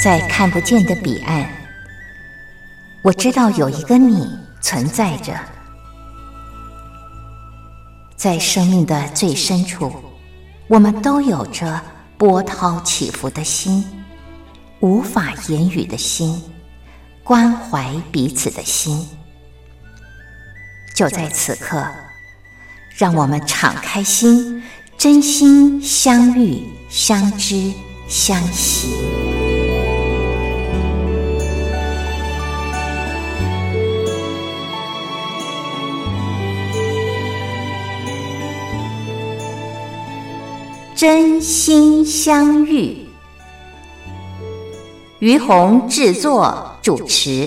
在看不见的彼岸，我知道有一个你存在着。在生命的最深处，我们都有着波涛起伏的心，无法言语的心，关怀彼此的心。就在此刻，让我们敞开心，真心相遇、相知、相惜。真心相遇，于红制作主持。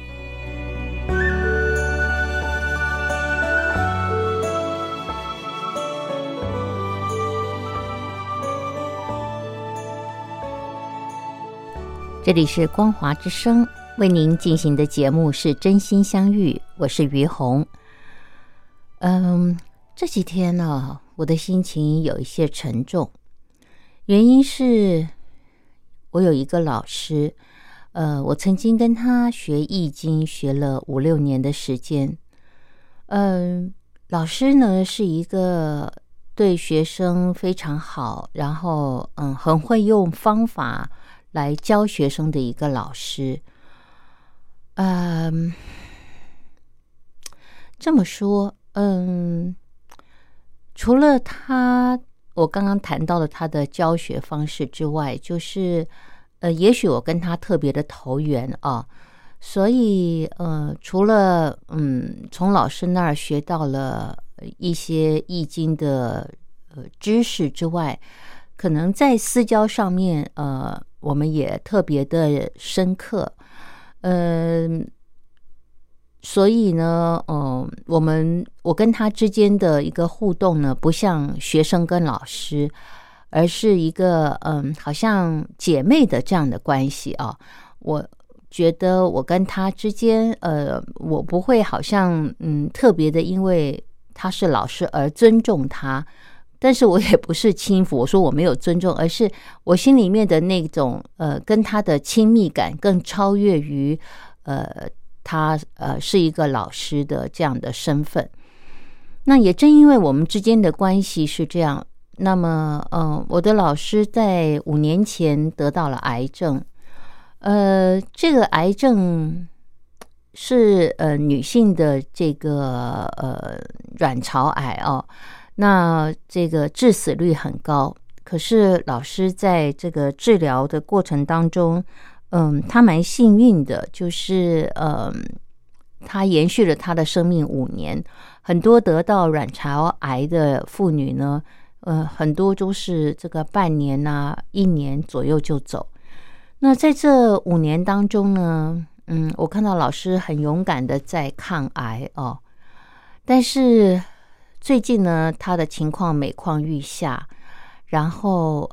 这里是光华之声，为您进行的节目是真心相遇，我是于红。这几天呢，我的心情有一些沉重，原因是我有一个老师，我曾经跟他学易经，学了5-6年的时间。老师呢是一个对学生非常好，然后很会用方法来教学生的一个老师。这么说，除了我刚刚谈到了他的教学方式之外，就是也许我跟他特别的投缘啊，所以除了从老师那儿学到了一些易经的知识之外，可能在私交上面我们也特别的深刻。所以呢，我跟他之间的一个互动呢，不像学生跟老师，而是一个好像姐妹的这样的关系啊。我觉得我跟他之间，我不会好像特别的因为他是老师而尊重他，但是我也不是轻浮，我说我没有尊重，而是我心里面的那种跟他的亲密感更超越于他是一个老师的这样的身份。那也正因为我们之间的关系是这样，那么我的老师在5年前得到了癌症。这个癌症是女性的这个卵巢癌哦，那这个致死率很高。可是老师在这个治疗的过程当中，他蛮幸运的，就是他延续了他的生命5年。很多得到卵巢癌的妇女呢，很多都是这个半年啊、1年左右就走。那在这5年当中呢，我看到老师很勇敢的在抗癌哦，但是最近呢，他的情况每况愈下，然后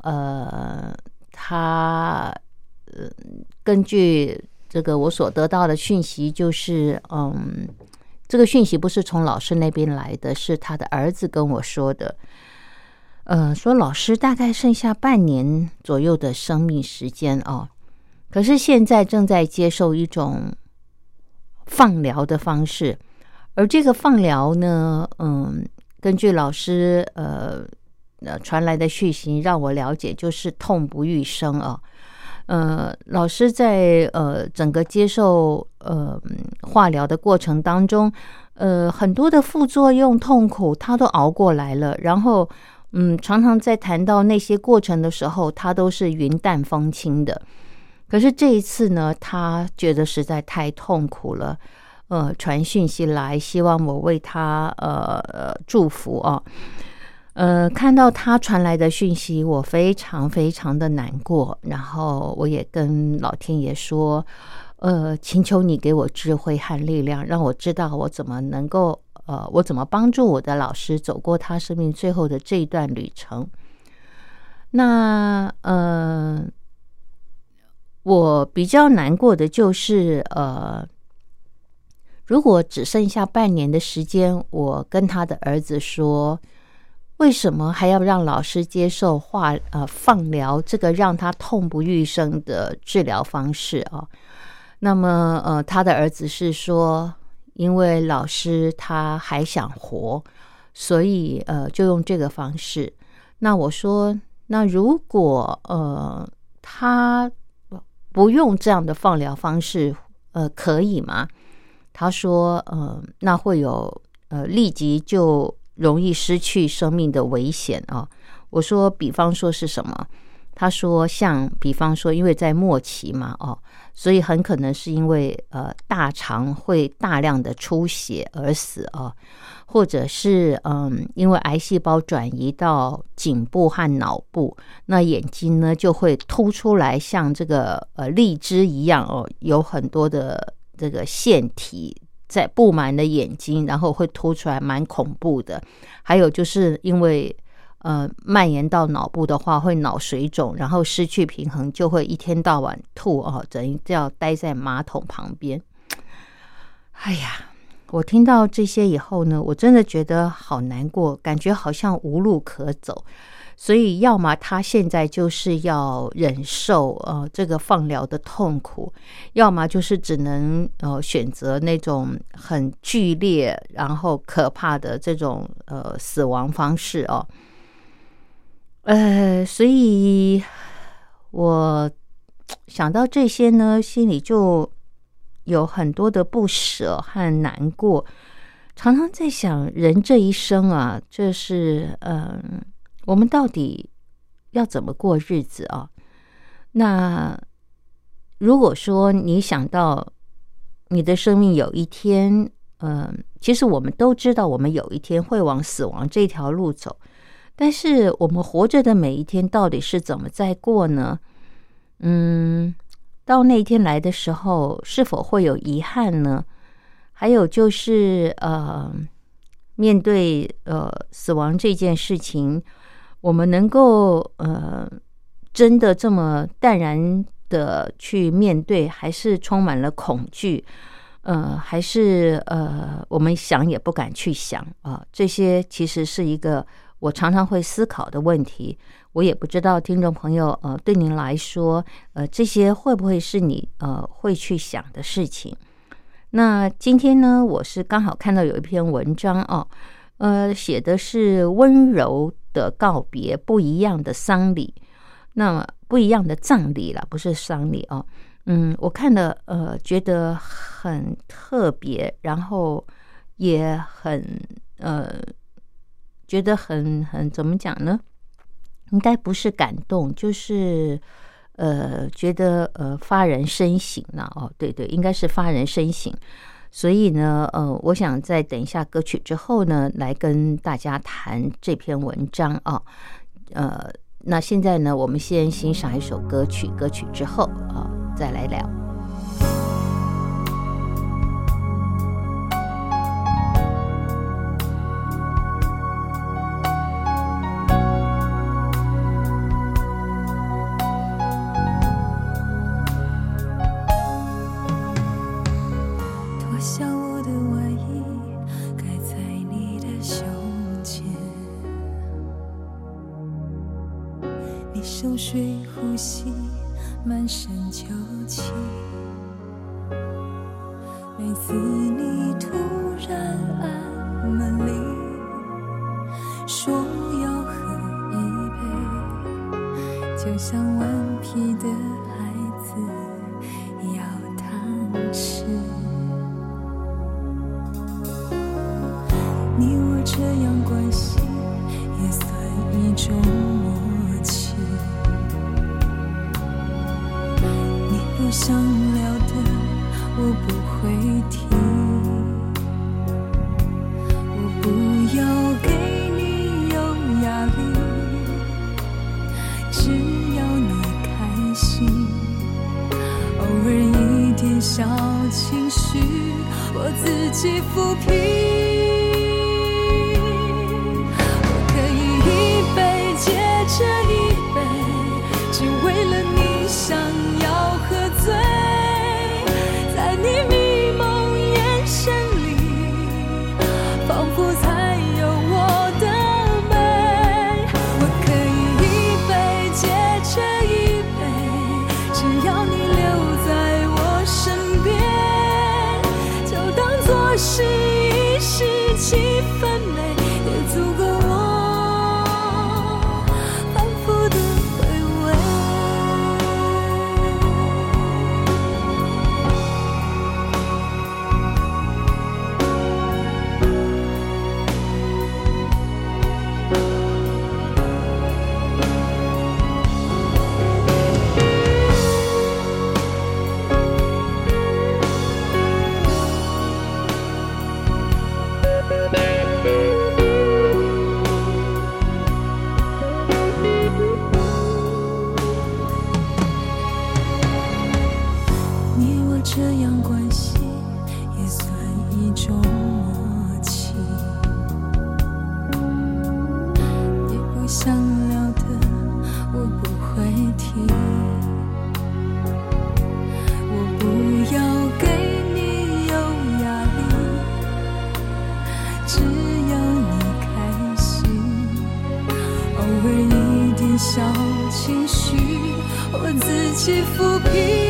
他根据这个我所得到的讯息，就是这个讯息不是从老师那边来的，是他的儿子跟我说的。说老师大概剩下半年左右的生命时间哦，可是现在正在接受一种放疗的方式，而这个放疗呢，根据老师传来的讯息让我了解，就是痛不欲生啊。老师在整个接受化疗的过程当中，很多的副作用痛苦他都熬过来了，然后常常在谈到那些过程的时候，他都是云淡风轻的。可是这一次呢，他觉得实在太痛苦了，传讯息来，希望我为他祝福啊。看到他传来的讯息，我非常非常的难过，然后我也跟老天爷说，请求你给我智慧和力量，让我知道我怎么能够我怎么帮助我的老师走过他生命最后的这一段旅程。那我比较难过的就是如果只剩下半年的时间，我跟他的儿子说， 为什么还要让老师接受放疗这个让他痛不欲生的治疗方式啊？那么他的儿子是说，因为老师他还想活，所以就用这个方式。那我说，那如果他不用这样的放疗方式，可以吗？他说，那会有立即就容易失去生命的危险啊。我说，比方说是什么？他说，比方说，因为在末期嘛，所以很可能是因为大肠会大量的出血而死啊，或者是因为癌细胞转移到颈部和脑部，那眼睛呢就会凸出来，像这个荔枝一样有很多的这个腺体在布满了眼睛，然后会凸出来，蛮恐怖的。还有就是因为蔓延到脑部的话，会脑水肿，然后失去平衡，就会一天到晚吐等于要待在马桶旁边。哎呀，我听到这些以后呢，我真的觉得好难过，感觉好像无路可走。所以要么他现在就是要忍受这个放疗的痛苦，要么就是只能选择那种很剧烈然后可怕的这种死亡方式所以我想到这些呢，心里就有很多的不舍和难过，常常在想，人这一生啊，这是我们到底要怎么过日子啊？那如果说你想到你的生命有一天，其实我们都知道，我们有一天会往死亡这条路走。但是我们活着的每一天到底是怎么在过呢？到那一天来的时候，是否会有遗憾呢？还有就是面对死亡这件事情，我们能够真的这么淡然的去面对，还是充满了恐惧？还是我们想也不敢去想这些其实是一个我常常会思考的问题。我也不知道听众朋友对您来说这些会不会是你会去想的事情。那今天呢，我是刚好看到有一篇文章写的是温柔的告别，不一样的丧礼，那么不一样的葬礼啦，不是丧礼我看了觉得很特别，然后也很觉得很怎么讲呢？应该不是感动，就是觉得发人深省了对，应该是发人深省。所以呢我想在等一下歌曲之后呢，来跟大家谈这篇文章那现在呢，我们先欣赏一首歌曲，歌曲之后再来聊。 脱下我的外衣，盖在你的胸前，你熟睡呼吸满身酒气，每次你突然按门铃，说要喝一杯，就像顽皮的孩子要糖吃。你我这样关系也算一种默契，你不想聊的我不会提，我不要给你有压力，只要你开心，偶尔一点小情绪我自己抚平。这一杯，只为了你想要喝醉，在你迷蒙眼神里，仿佛才有我的美。 是一时气氛美，也足够我反复的回味。你我这样关系也算一种默契，你不想聊的我不会提，我不要给你有压力，只要你开心，偶尔一点小情绪我自己抚平。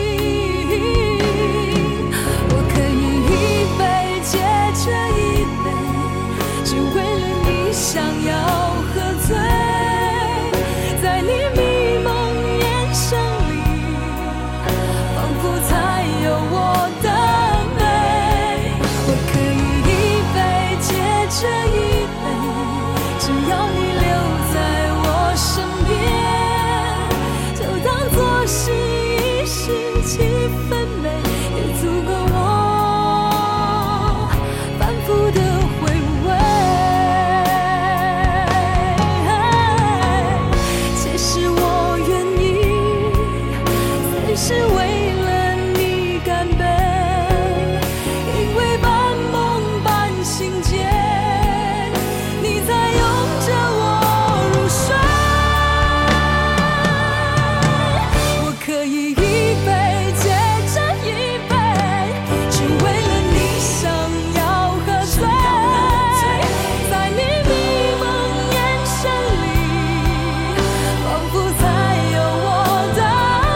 想要喝醉，在你迷蒙眼神里，仿佛才有我的美。我可以一杯接着一杯，只要你留在我身边，就当作是一时气氛美，也足够我反复的回味。是为了你干杯，因为半梦半醒间，你在拥着我入睡。我可以一杯接着一杯，只为了你想要喝醉，在你迷蒙眼神里，仿佛才有我的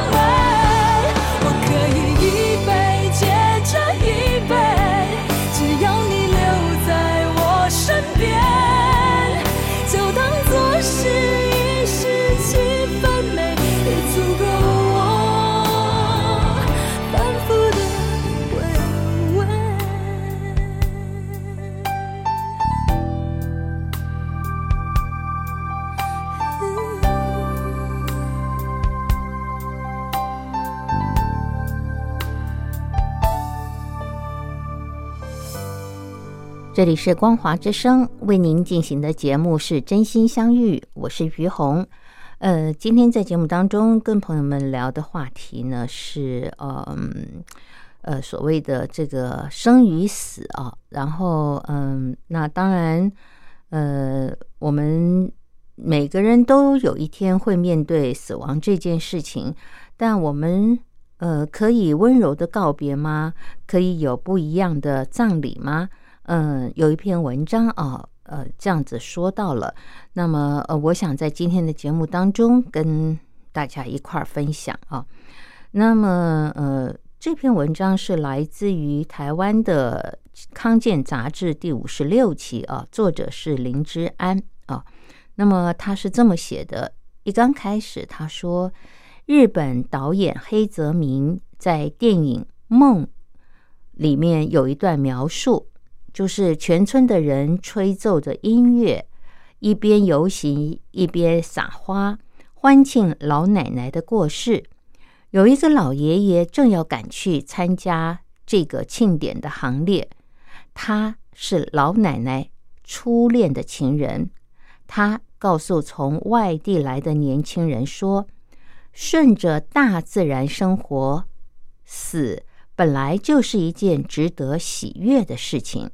这里是光华之声为您进行的节目是真心相遇，我是于红。今天在节目当中跟朋友们聊的话题呢是所谓的这个生与死啊，然后那当然我们每个人都有一天会面对死亡这件事情，但我们可以温柔的告别吗？可以有不一样的葬礼吗？有一篇文章啊，这样子说到了。那么我想在今天的节目当中跟大家一块儿分享啊。那么这篇文章是来自于台湾的康健杂志第56期啊，作者是林之安啊。那么他是这么写的，一刚开始他说，日本导演黑泽明在电影《梦》里面有一段描述，就是全村的人吹奏着音乐，一边游行一边撒花，欢庆老奶奶的过世。有一个老爷爷正要赶去参加这个庆典的行列，他是老奶奶初恋的情人。他告诉从外地来的年轻人说，顺着大自然生活，死本来就是一件值得喜悦的事情。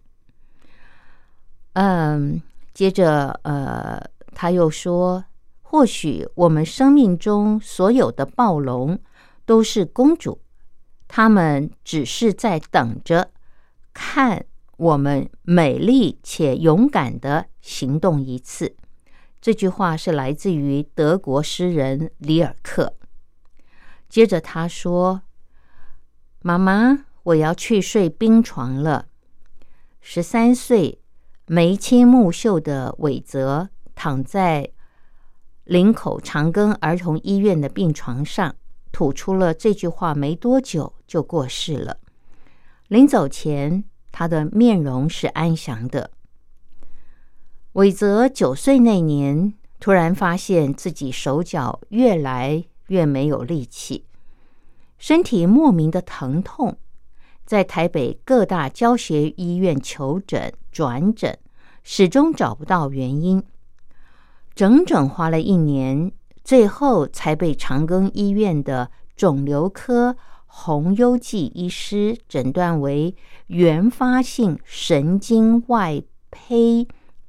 接着他又说，或许我们生命中所有的暴龙都是公主，她们只是在等着看我们美丽且勇敢地行动一次。这句话是来自于德国诗人里尔克。接着他说，妈妈，我要去睡冰床了。 13岁眉清目秀的伟泽躺在林口长庚儿童医院的病床上，吐出了这句话没多久就过世了。临走前，他的面容是安详的。伟泽9岁那年，突然发现自己手脚越来越没有力气，身体莫名的疼痛，在台北各大教学医院求诊转诊，始终找不到原因，整整花了1年，最后才被长庚医院的肿瘤科洪优记医师诊断为原发性神经外胚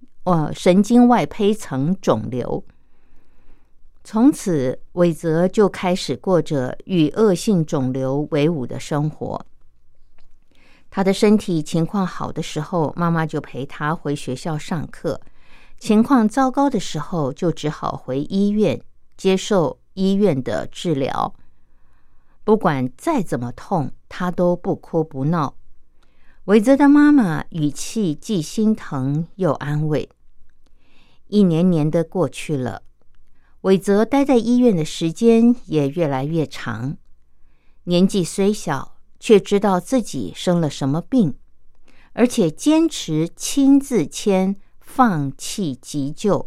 层肿瘤。从此，伟泽就开始过着与恶性肿瘤为伍的生活。他的身体情况好的时候，妈妈就陪他回学校上课；情况糟糕的时候，就只好回医院接受医院的治疗。不管再怎么痛，他都不哭不闹。伟泽的妈妈语气既心疼又安慰。一年年的过去了，伟泽待在医院的时间也越来越长。年纪虽小，却知道自己生了什么病，而且坚持亲自签放弃急救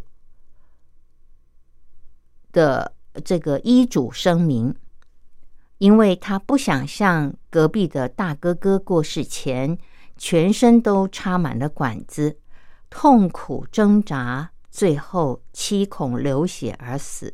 的这个医嘱声明，因为他不想像隔壁的大哥哥过世前，全身都插满了管子，痛苦挣扎，最后七孔流血而死。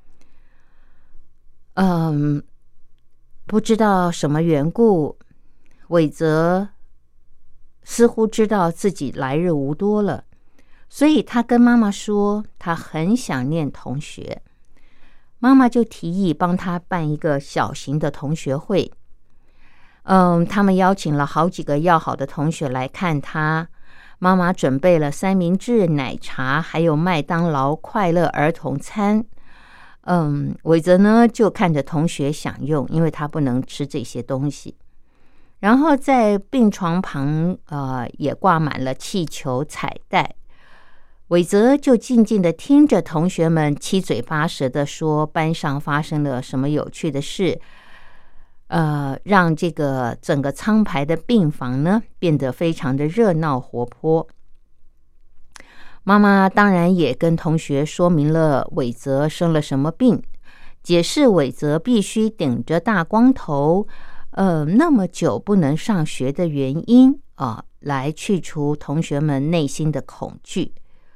不知道什么缘故，伟泽似乎知道自己来日无多了，所以他跟妈妈说他很想念同学。妈妈就提议帮他办一个小型的同学会。他们邀请了好几个要好的同学来看他。妈妈准备了三明治、奶茶，还有麦当劳快乐儿童餐。伟泽呢就看着同学享用，因为他不能吃这些东西。然后在病床旁也挂满了气球彩带。伟泽就静静地听着同学们七嘴八舌地说班上发生了什么有趣的事，让这个整个苍白的病房呢变得非常的热闹活泼。妈妈当然也跟同学说明了伟泽生了什么病，解释伟泽必须顶着大光头那么久不能上学的原因来去除同学们内心的恐惧。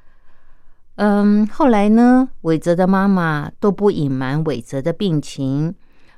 后来呢，伟泽的妈妈都不隐瞒伟泽的病情，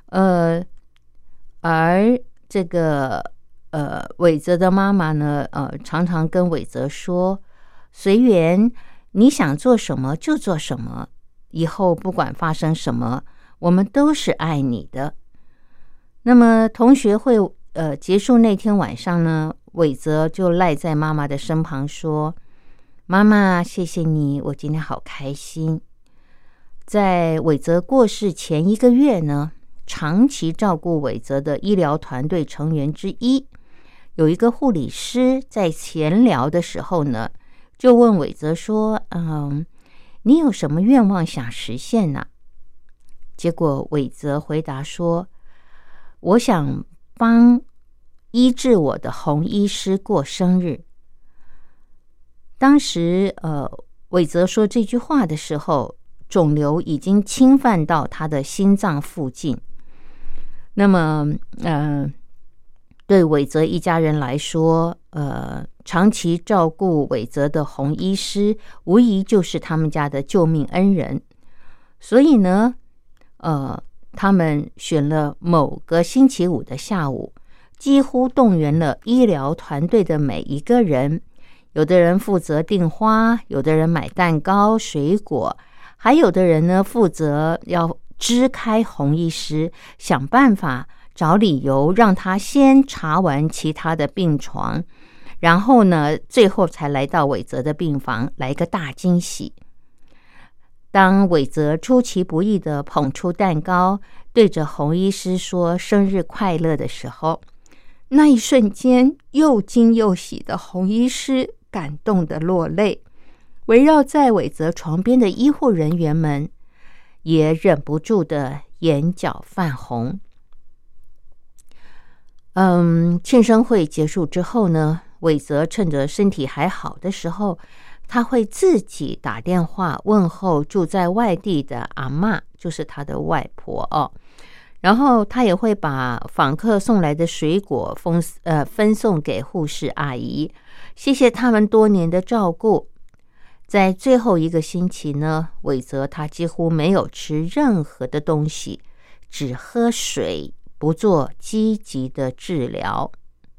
而这个伟泽的妈妈呢常常跟伟泽说，随缘，你想做什么就做什么，以后不管发生什么，我们都是爱你的。那么同学会结束那天晚上呢，伟泽就赖在妈妈的身旁说，妈妈谢谢你，我今天好开心。在伟泽过世前1个月呢，长期照顾伟泽的医疗团队成员之一，有一个护理师在闲聊的时候呢，就问伟泽说，你有什么愿望想实现呢？结果伟泽回答说，我想帮医治我的洪医师过生日。当时伟泽说这句话的时候，肿瘤已经侵犯到他的心脏附近。那么对伟泽一家人来说，长期照顾伟泽的洪医师无疑就是他们家的救命恩人。所以呢他们选了某个星期五的下午，几乎动员了医疗团队的每一个人，有的人负责订花，有的人买蛋糕水果，还有的人呢负责要支开洪医师，想办法找理由让他先查完其他的病床，然后呢最后才来到伟泽的病房，来个大惊喜。当伟泽出其不意地捧出蛋糕，对着洪医师说生日快乐的时候， 那一瞬间，又惊又喜的红医师感动的落泪，围绕在伟泽床边的医护人员们也忍不住的眼角泛红。庆生会结束之后呢，伟泽趁着身体还好的时候，他会自己打电话问候住在外地的阿嬷，就是他的外婆哦。然后他也会把访客送来的水果分送给护士阿姨，谢谢他们多年的照顾。在最后一个星期呢，伟泽他几乎没有吃任何的东西，只喝水，不做积极的治疗。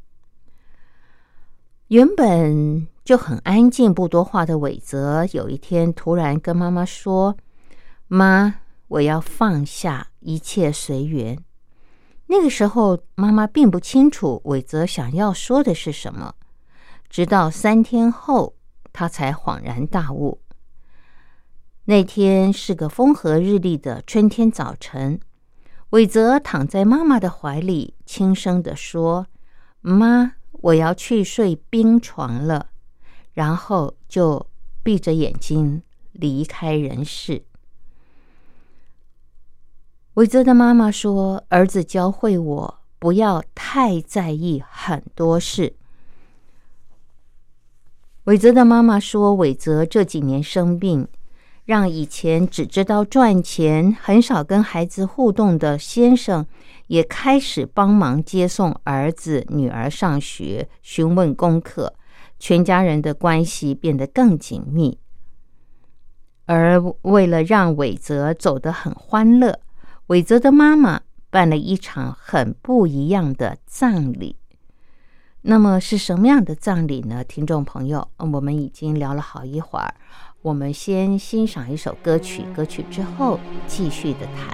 原本就很安静不多话的伟泽，有一天突然跟妈妈说：妈，我要放下，一切随缘。那个时候妈妈并不清楚伟泽想要说的是什么，直到3天后他才恍然大悟。那天是个风和日丽的春天早晨，伟泽躺在妈妈的怀里，轻声地说：妈，我要去睡冰床了。然后就闭着眼睛离开人世。伟泽的妈妈说，儿子教会我不要太在意很多事。伟泽的妈妈说，伟泽这几年生病，让以前只知道赚钱，很少跟孩子互动的先生，也开始帮忙接送儿子女儿上学，询问功课，全家人的关系变得更紧密。而为了让伟泽走得很欢乐，伟泽的妈妈办了一场很不一样的葬礼。那么是什么样的葬礼呢？听众朋友，我们已经聊了好一会儿，我们先欣赏一首歌曲，歌曲之后继续的谈。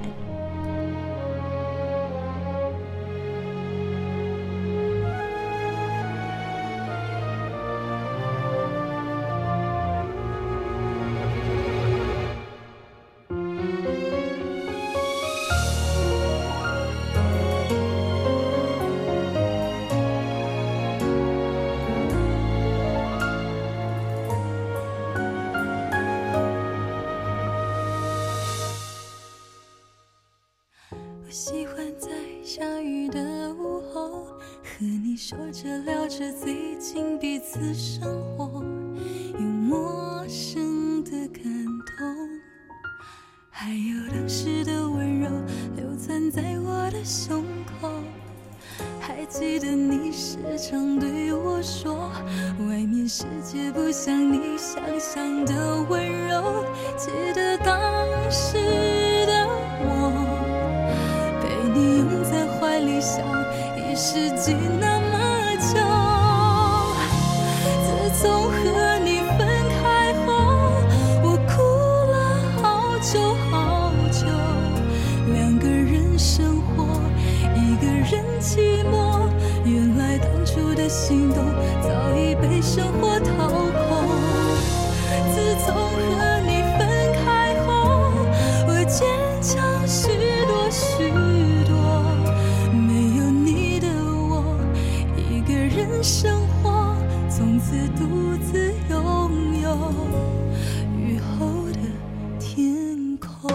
我喜欢在下雨的午后，和你说着聊着最近彼此生活，有陌生的感动，还有当时的温柔流淌在我的胸口。还记得你时常对我说，外面世界不像你想象的温柔。记得当时的我，被你拥在怀里想一世纪那么久。自从和你分开后，我哭了好久好久。两个人生活，一个人寂寞，原来当初的心动早已被生活掏空。自从和你分开后，我坚强许多许多，没有你的我，一个人生活，从此独自拥有雨后的天空。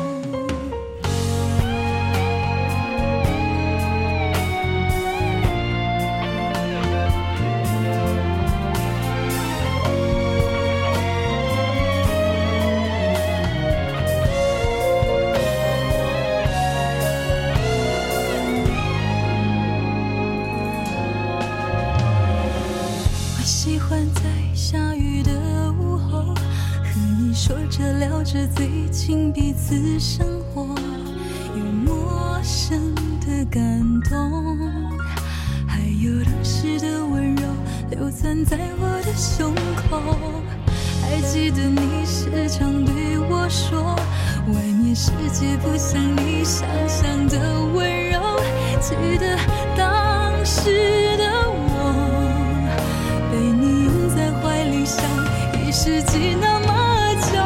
喜欢在下雨的午后，和你说着聊着最近彼此生活，有陌生的感动，还有当时的温柔流淌在我的胸口。还记得你时常对我说，外面世界不像你想象的温柔。记得当时的我，被你拥在怀里想一世纪那么久。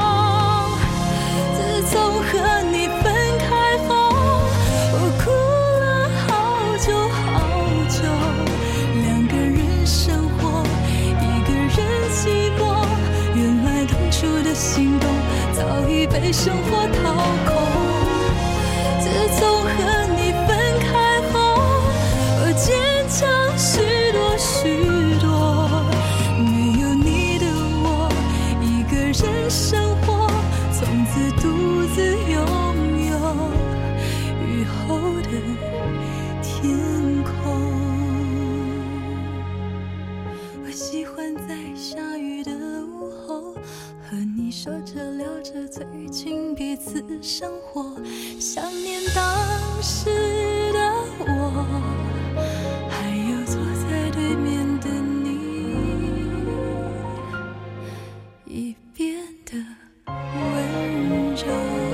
自从和你分开后，我哭了好久好久。 心动早已被生活掏空。自从和你分开后，我坚强许多许多，没有你的我一个人生活，从此独自拥有雨后的天空。我喜欢在下雨的午后，和你说着聊着最近彼此生活，想念当时的我，还有坐在对面的你，已变得温柔。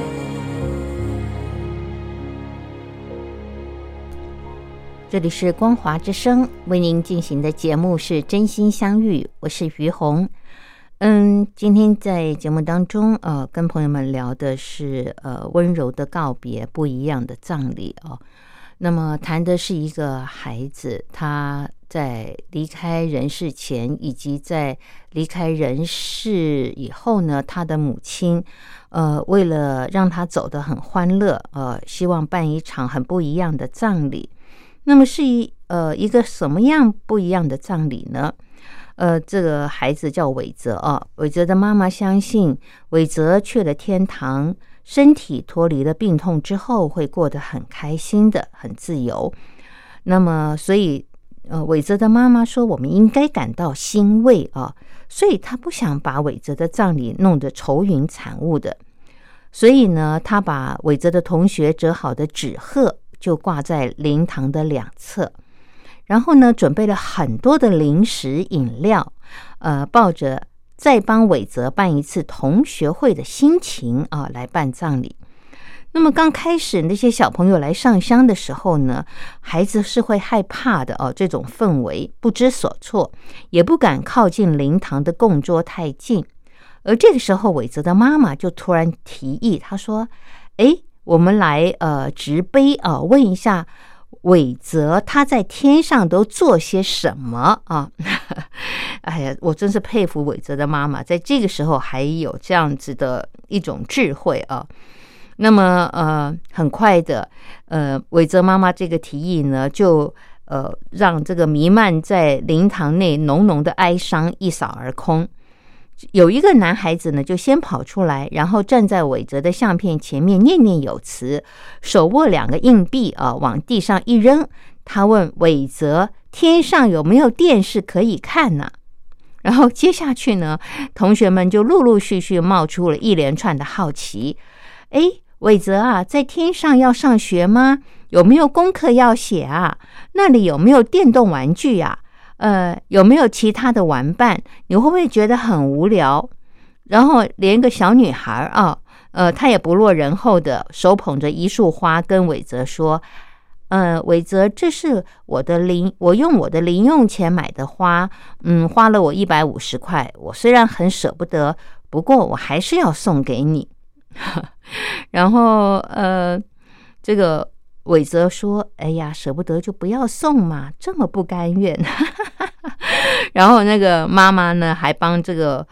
这里是光华之声，为您进行的节目是真心相遇，我是于红。今天在节目当中跟朋友们聊的是温柔的告别，不一样的葬礼哦。那么谈的是一个孩子，他在离开人世前以及在离开人世以后呢，他的母亲为了让他走得很欢乐，希望办一场很不一样的葬礼。那么是一个什么样不一样的葬礼呢？这个孩子叫伟泽伟泽的妈妈相信伟泽去了天堂，身体脱离了病痛之后会过得很开心的，很自由。那么所以伟泽的妈妈说我们应该感到欣慰所以他不想把伟泽的葬礼弄得愁云惨雾的。所以呢，他把伟泽的同学折好的纸鹤就挂在灵堂的两侧，然后呢，准备了很多的零食饮料，抱着再帮伟泽办一次同学会的心情来办葬礼。那么刚开始那些小朋友来上香的时候呢，孩子是会害怕的这种氛围不知所措，也不敢靠近灵堂的供桌太近。而这个时候伟泽的妈妈就突然提议，她说我们来直碑问一下伟泽他在天上都做些什么哎呀，我真是佩服伟泽的妈妈，在这个时候还有这样子的一种智慧那么很快的伟泽妈妈这个提议呢，就让这个弥漫在灵堂内浓浓的哀伤一扫而空。有一个男孩子呢，就先跑出来，然后站在伟泽的相片前面念念有词，手握2个硬币往地上一扔。他问伟泽，天上有没有电视可以看呢？然后接下去呢，同学们就陆陆续续冒出了一连串的好奇。伟泽在天上要上学吗？有没有功课要写啊？那里有没有电动玩具啊？有没有其他的玩伴？你会不会觉得很无聊？然后连个小女孩她也不落人后的手捧着一束花跟伟泽说，伟泽，这是我用我的零用钱买的花，花了我150块，我虽然很舍不得，不过我还是要送给你。然后这个伟泽说，哎呀，舍不得就不要送嘛，这么不甘愿。然后那个妈妈呢，还帮这个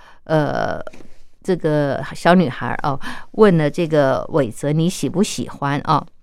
小女孩问了这个伟泽，你喜不喜欢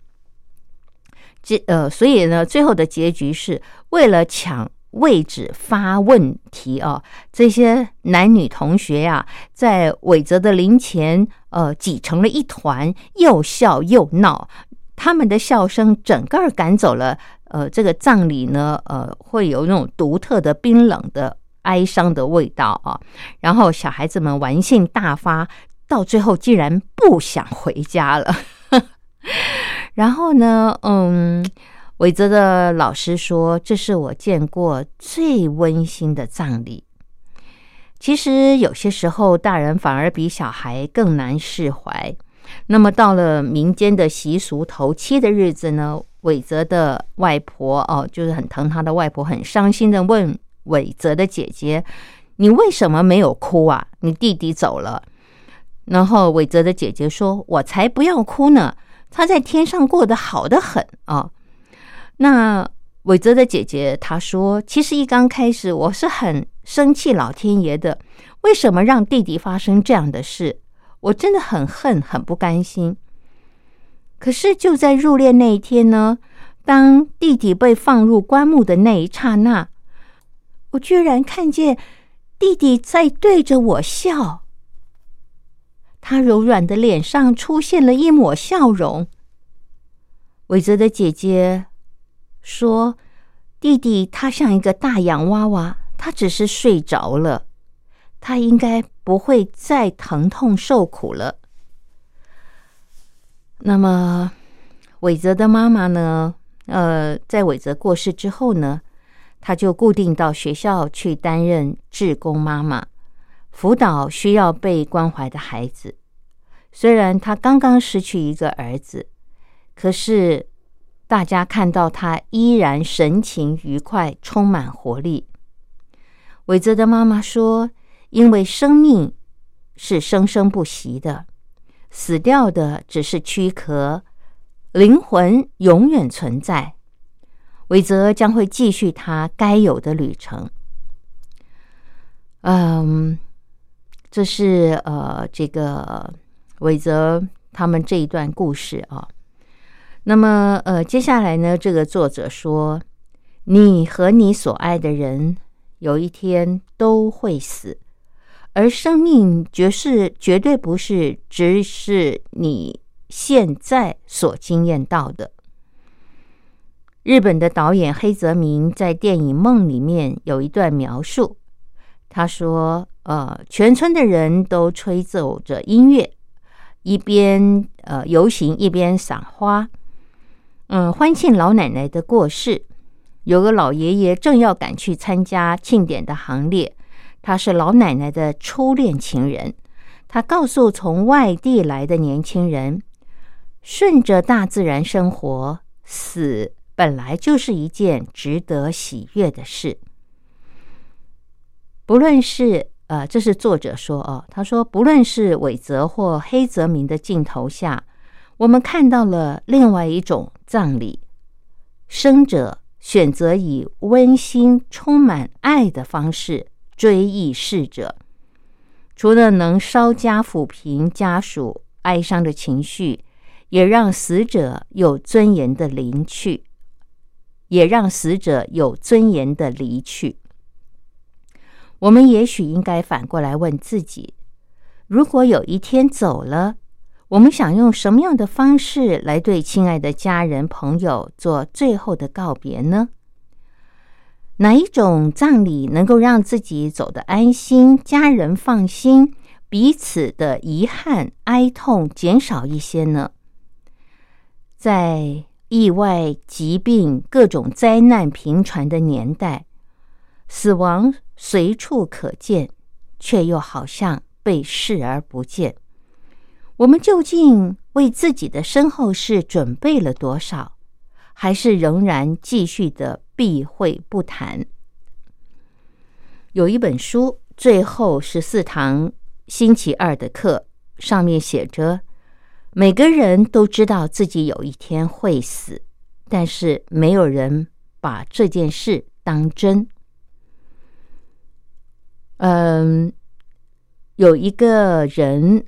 所以呢，最后的结局是为了抢位置发问题这些男女同学呀，在伟泽的灵前挤成了一团，又笑又闹。他们的笑声整个赶走了这个葬礼呢会有那种独特的冰冷的哀伤的味道然后小孩子们玩性大发，到最后竟然不想回家了。然后呢伟泽的老师说，这是我见过最温馨的葬礼。其实有些时候大人反而比小孩更难释怀。那么到了民间的习俗头七的日子呢，伟泽的外婆就是很疼他的外婆，很伤心的问伟泽的姐姐，你为什么没有哭啊？你弟弟走了。然后伟泽的姐姐说，我才不要哭呢，他在天上过得好得很那伟泽的姐姐她说，其实一刚开始我是很生气老天爷的，为什么让弟弟发生这样的事？ 我真的很恨，很不甘心。可是就在入殓那一天呢，当弟弟被放入棺木的那一刹那，我居然看见弟弟在对着我笑，他柔软的脸上出现了一抹笑容。伟泽的姐姐说，弟弟他像一个大洋娃娃，他只是睡着了，他应该不会再疼痛受苦了。那么伟泽的妈妈呢，在伟泽过世之后呢，她就固定到学校去担任志工妈妈，辅导需要被关怀的孩子。虽然她刚刚失去一个儿子，可是大家看到她依然神情愉快，充满活力。伟泽的妈妈说，因为生命是生生不息的，死掉的只是躯壳，灵魂永远存在。伟泽将会继续他该有的旅程。这是这个伟泽他们这一段故事啊。那么接下来呢，这个作者说，你和你所爱的人有一天都会死，而生命绝对不是只是你现在所经验到的。日本的导演黑泽明在电影《梦》里面有一段描述，他说全村的人都吹奏着音乐，一边游行一边赏花，欢庆老奶奶的过世。有个老爷爷正要赶去参加庆典的行列，他是老奶奶的初恋情人。他告诉从外地来的年轻人，顺着大自然生活，死本来就是一件值得喜悦的事。不论是这是作者说他说，不论是伟泽或黑泽明的镜头下，我们看到了另外一种葬礼，生者选择以温馨充满爱的方式追忆逝者，除了能稍加抚平家属哀伤的情绪，也让死者有尊严的离去。我们也许应该反过来问自己，如果有一天走了，我们想用什么样的方式来对亲爱的家人朋友做最后的告别呢？哪一种葬礼能够让自己走得安心，家人放心，彼此的遗憾哀痛减少一些呢？在意外、疾病、各种灾难频传的年代，死亡随处可见，却又好像被视而不见。我们究竟为自己的身后事准备了多少，还是仍然继续的避讳不谈？有一本书最后14堂星期二的课，上面写着，每个人都知道自己有一天会死，但是没有人把这件事当真。有一个人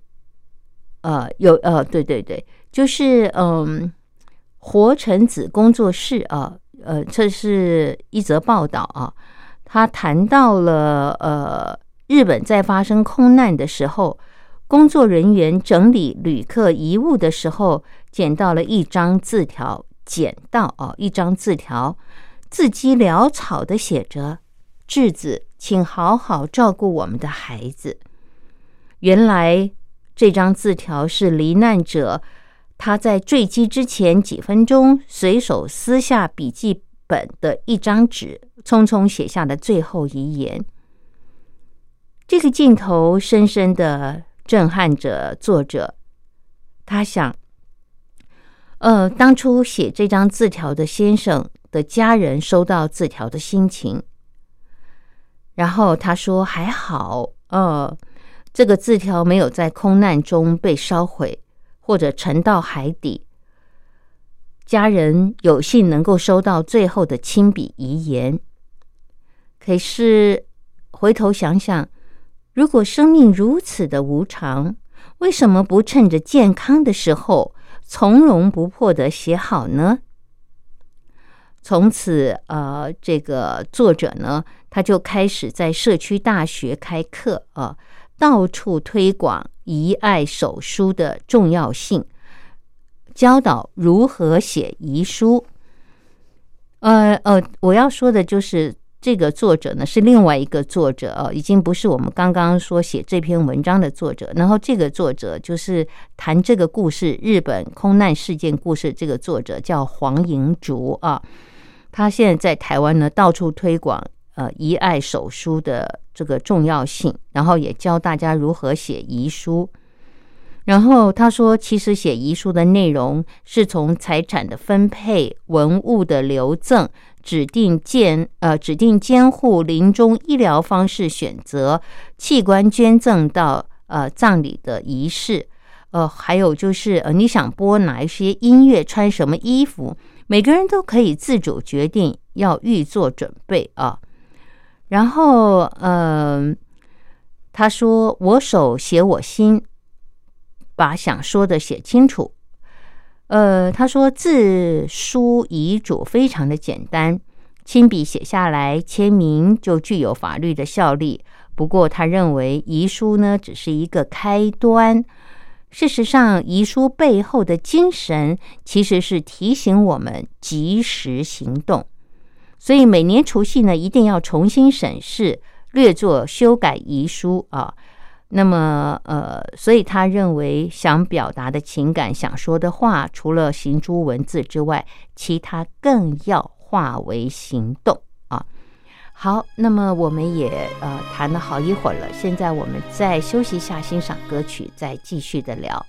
对，就是活臣子工作室这是一则报道他谈到了日本在发生空难的时候，工作人员整理旅客遗物的时候，捡到了一张字条，一张字条，字迹潦草的写着：稚子，请好好照顾我们的孩子。原来这张字条是罹难者他在坠机之前几分钟随手撕下笔记本的一张纸，匆匆写下的最后遗言。这个镜头深深的震撼着作者，他想当初写这张字条的先生的家人收到字条的心情。然后他说还好这个字条没有在空难中被烧毁或者沉到海底，家人有幸能够收到最后的亲笔遗言。可是回头想想，如果生命如此的无常， 为什么不趁着健康的时候从容不迫地写好呢？从此这个作者呢，他就开始在社区大学开课到处推广遗爱手书的重要性，教导如何写遗书。我要说的就是这个作者呢是另外一个作者已经不是我们刚刚说写这篇文章的作者。然后这个作者就是谈这个故事日本空难事件故事，这个作者叫黄银竹他现在在台湾呢到处推广遗爱手书的这个重要性，然后也教大家如何写遗书。然后他说，其实写遗书的内容是从财产的分配、文物的留赠、指定监护、临终医疗方式选择、器官捐赠到葬礼的仪式，还有就是你想播哪一些音乐、穿什么衣服，每个人都可以自主决定，要预做准备然后他说，我手写我心，把想说的写清楚。他说自书遗嘱非常的简单，亲笔写下来签名就具有法律的效力。不过他认为遗书呢只是一个开端，事实上遗书背后的精神其实是提醒我们及时行动。所以每年除夕呢一定要重新审视，略作修改遗书那么所以他认为想表达的情感、想说的话，除了行诸文字之外，其他更要化为行动好，那么我们也谈了好一会儿了，现在我们再休息一下，欣赏歌曲，再继续的聊。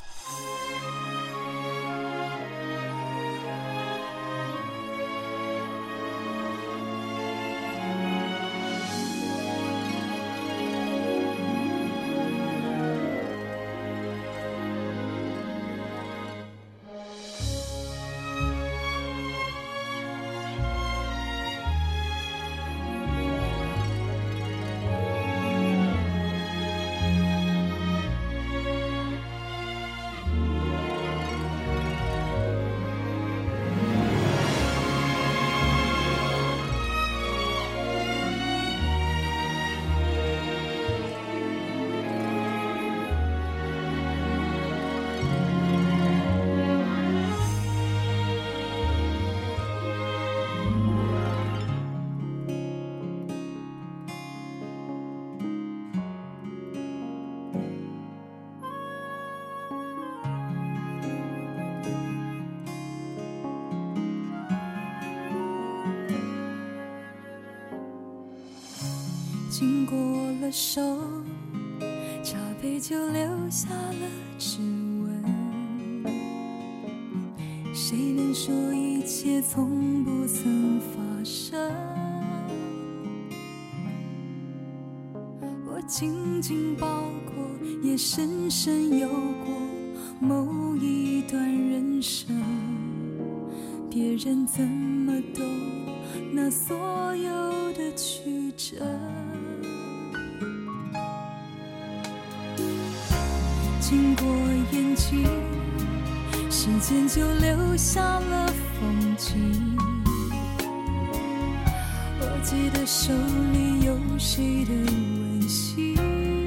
经过了手，茶杯就留下了指纹。谁能说一切从不曾发生？我紧紧抱过，也深深有过某一段人生。别人怎么懂那所有的曲折？经过眼睛，时间就留下了风景。我记得手里有谁的温馨，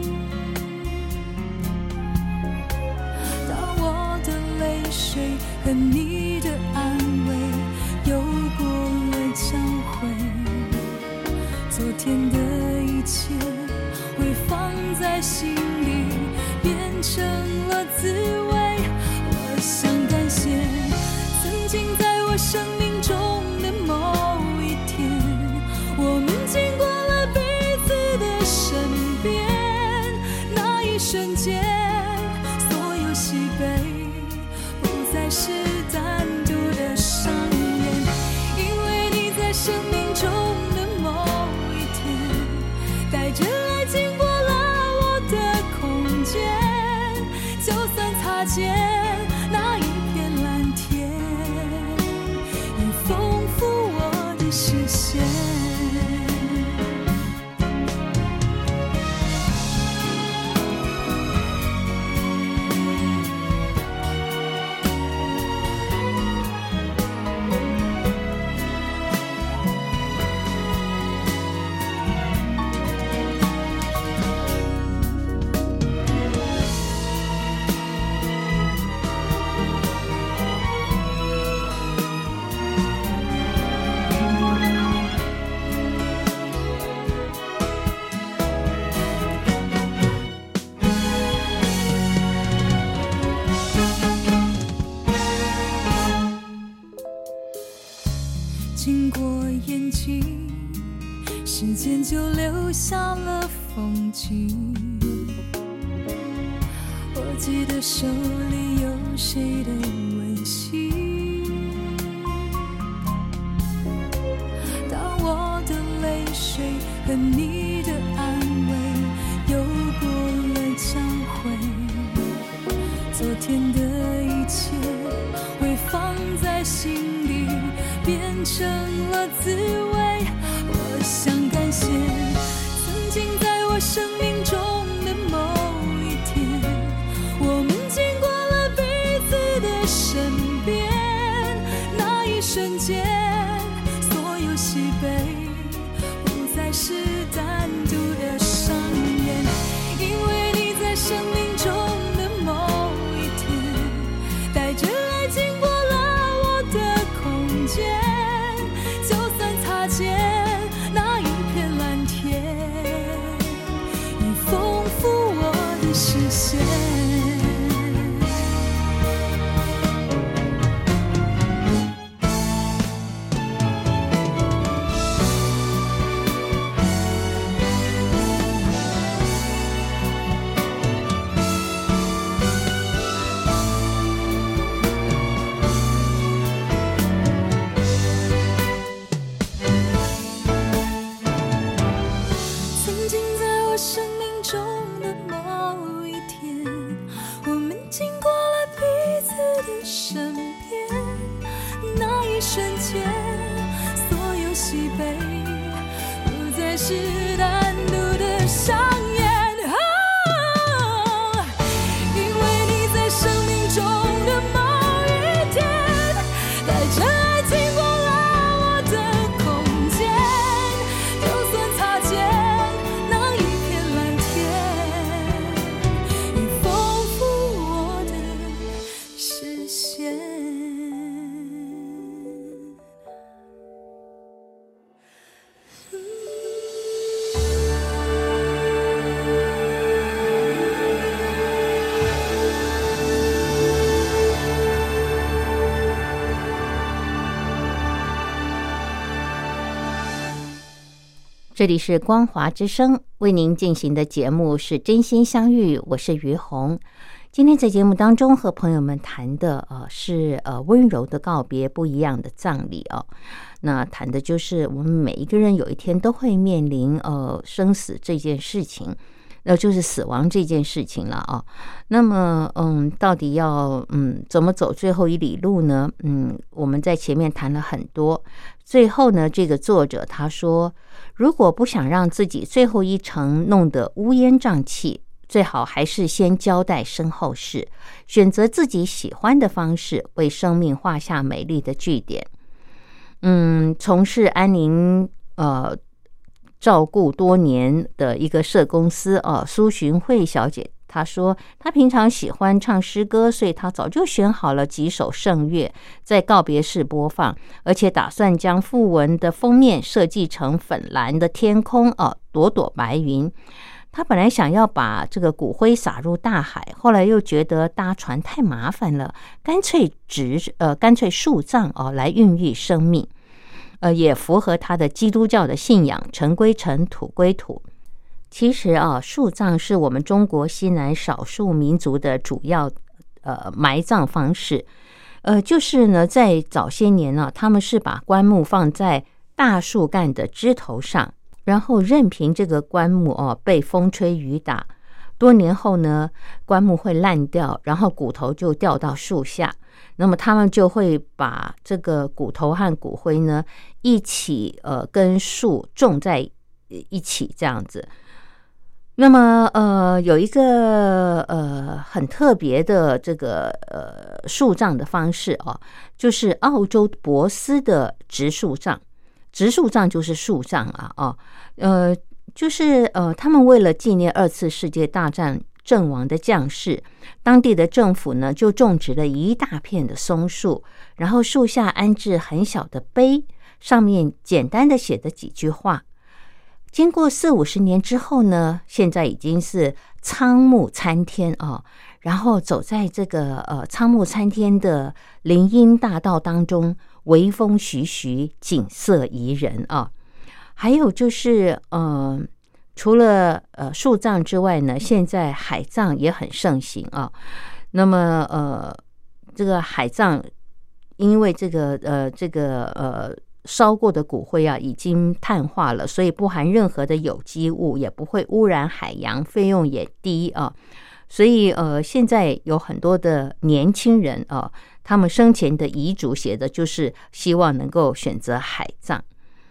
当我的泪水和你的安慰有过了交汇，昨天的一切会放在心里，变成了滋味。我想感谢曾经在我生命中的某一天，我们经过了彼此的身边，那一瞬间所有喜悲不再是单独的伤眼，因为你在生命中的某一天带着爱经过就算擦肩那一片蓝天，也丰富我的视线。 下了风景。我记得手里有谁的温馨，当我的泪水和你的安慰有过了交汇，昨天的一切会放在心里，变成了滋味。我想感谢曾经在我生命中的某一天，我们经过了彼此的身边，那一瞬间所有喜悲不再是单独的上演，因为你在生命中的某一天带着爱经过了我的空间，就算擦肩那一片蓝天已丰富我的视线。是单独的上演，因为你在生命中的某一天带着爱经过了我的空间，就算擦肩那一片蓝天已丰富我的视线。 这里是光华之声为您进行的节目是真心相遇，我是于红。今天在节目当中和朋友们谈的是温柔的告别，不一样的葬礼哦。那谈的就是我们每一个人有一天都会面临生死这件事情，就是死亡这件事情了啊。那么到底要怎么走最后一里路呢？我们在前面谈了很多，最后呢，这个作者他说，如果不想让自己最后一程弄得乌烟瘴气，最好还是先交代身后事，选择自己喜欢的方式，为生命画下美丽的句点。从事安宁照顾多年的一个社公司苏寻慧小姐，她说她平常喜欢唱诗歌，所以她早就选好了几首圣乐，在告别式播放，而且打算将讣文的封面设计成粉蓝的天空朵朵白云。她本来想要把这个骨灰撒入大海，后来又觉得搭船太麻烦了，干脆树葬来孕育生命。也符合他的基督教的信仰，尘归尘，土归土。其实树葬是我们中国西南少数民族的主要埋葬方式。就是呢，在早些年呢，他们是把棺木放在大树干的枝头上，然后任凭这个棺木被风吹雨打。多年后呢，棺木会烂掉，然后骨头就掉到树下。那么他们就会把这个骨头和骨灰呢一起跟树种在一起这样子。那么有一个很特别的这个树葬的方式就是澳洲博斯的植树葬。植树葬就是树葬就是他们为了纪念2次世界大战阵亡的将士，当地的政府呢就种植了一大片的松树，然后树下安置很小的碑，上面简单的写的几句话。经过40-50年之后呢，现在已经是苍木参天然后走在这个苍木参天的林荫大道当中，微风徐徐，景色宜人还有就是除了树葬之外呢，现在海葬也很盛行啊。那么这个海葬，因为这个烧过的骨灰啊已经碳化了，所以不含任何的有机物，也不会污染海洋，费用也低啊。所以现在有很多的年轻人啊，他们生前的遗嘱写的就是希望能够选择海葬。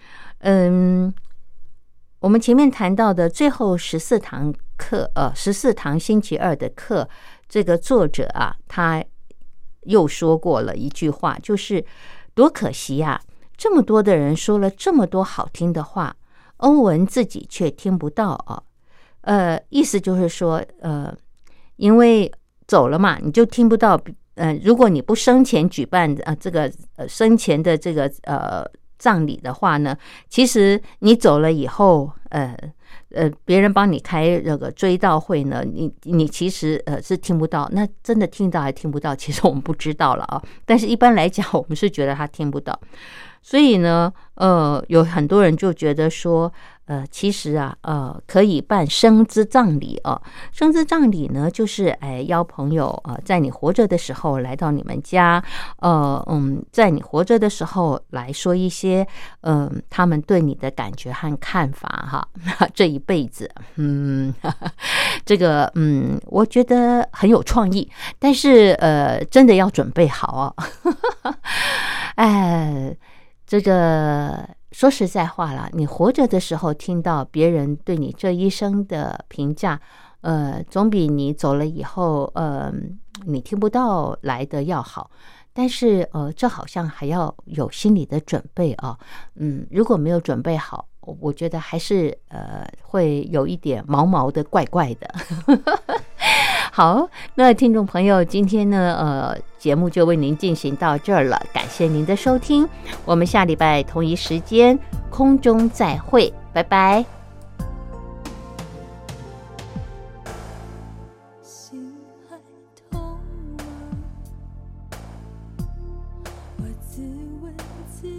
我们前面谈到的最后14堂课，14堂星期二的课，这个作者啊，他又说过了一句话，就是多可惜啊，这么多的人说了这么多好听的话，欧文自己却听不到啊。意思就是说，因为走了嘛，你就听不到。如果你不生前举办这个生前的这个葬礼的话呢，其实你走了以后，别人帮你开这个追悼会呢，你其实是听不到。那真的听到还听不到，其实我们不知道了啊。但是一般来讲，我们是觉得他听不到。所以呢，有很多人就觉得说，其实啊，可以办生资葬礼啊。生资葬礼呢，就是邀朋友在你活着的时候来到你们家，在你活着的时候来说一些他们对你的感觉和看法哈。这一辈子，这个我觉得很有创意，但是真的要准备好这个说实在话啦，你活着的时候听到别人对你这一生的评价，总比你走了以后，你听不到来的要好。但是这好像还要有心理的准备啊。如果没有准备好，我觉得还是会有一点毛毛的、怪怪的。好，那听众朋友，今天呢，节目就为您进行到这儿了，感谢您的收听，我们下礼拜同一时间空中再会，拜拜。 心还痛吗？我自问自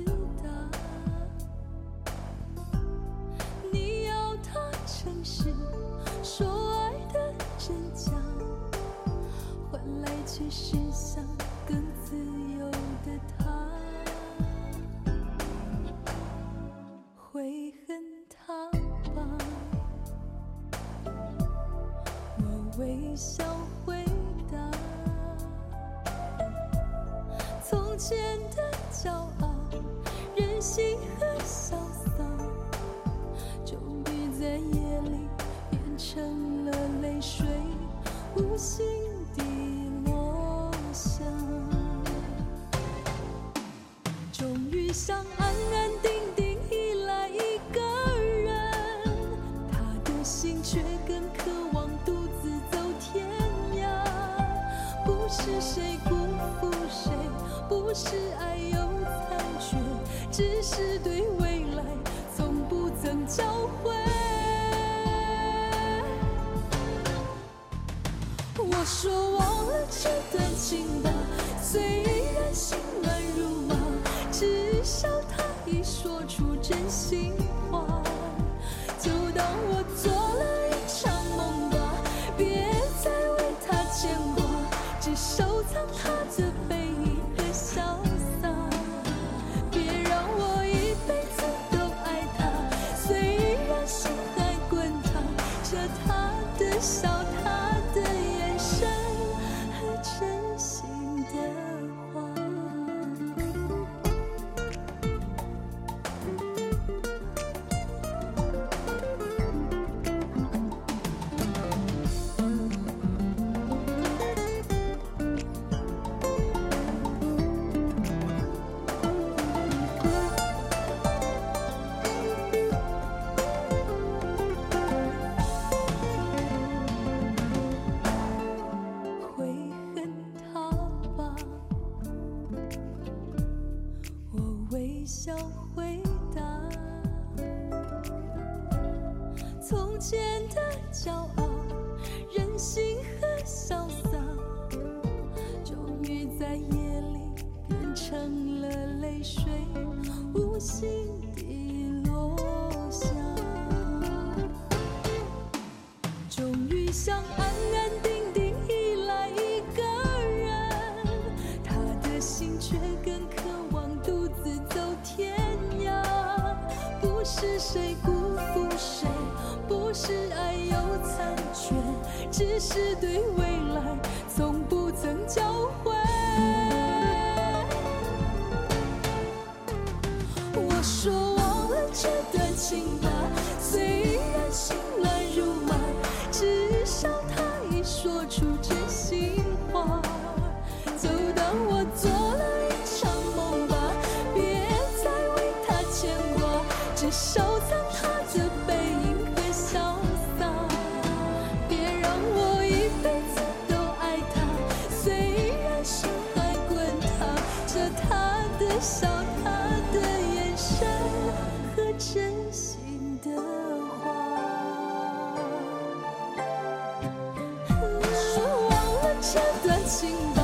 答，你要他诚实说爱的真假，换来却是想更自由的他，会恨他吧？我微笑回答，从前的骄傲、任性和潇洒，终于在夜里变成了泪水，无心地落下。终于想安安定定依赖一个人，他的心却更渴望独自走天涯。不是谁辜负谁，不是爱有残缺，只是对未来从不曾交汇。我说忘了这段情吧，虽然心乱如麻，至少他已说出真心话。就当我做了一场梦吧，别再为他牵挂，只收藏他的背影和潇洒。别让我一辈子都爱他，虽然心还滚烫，着他的笑，他的眼神和真心的话。会恨他吧？我微笑回答，从前的骄傲、任性和潇洒，终于在夜里变成了泪水，无心地落下。 只想安安定定依赖一个人，他的心却更渴望独自走天涯。不是谁辜负谁，不是爱有残缺，只是对未来从不曾交汇。我说忘了这段情吧，虽然心乱如麻，至少他已说出真心话。就当我做了一场梦吧，别再为他牵挂，只收藏他的背影和潇洒。别让我一辈子都爱他，虽然心还滚烫着他的笑，他的眼神和真心的话。忘了这段情。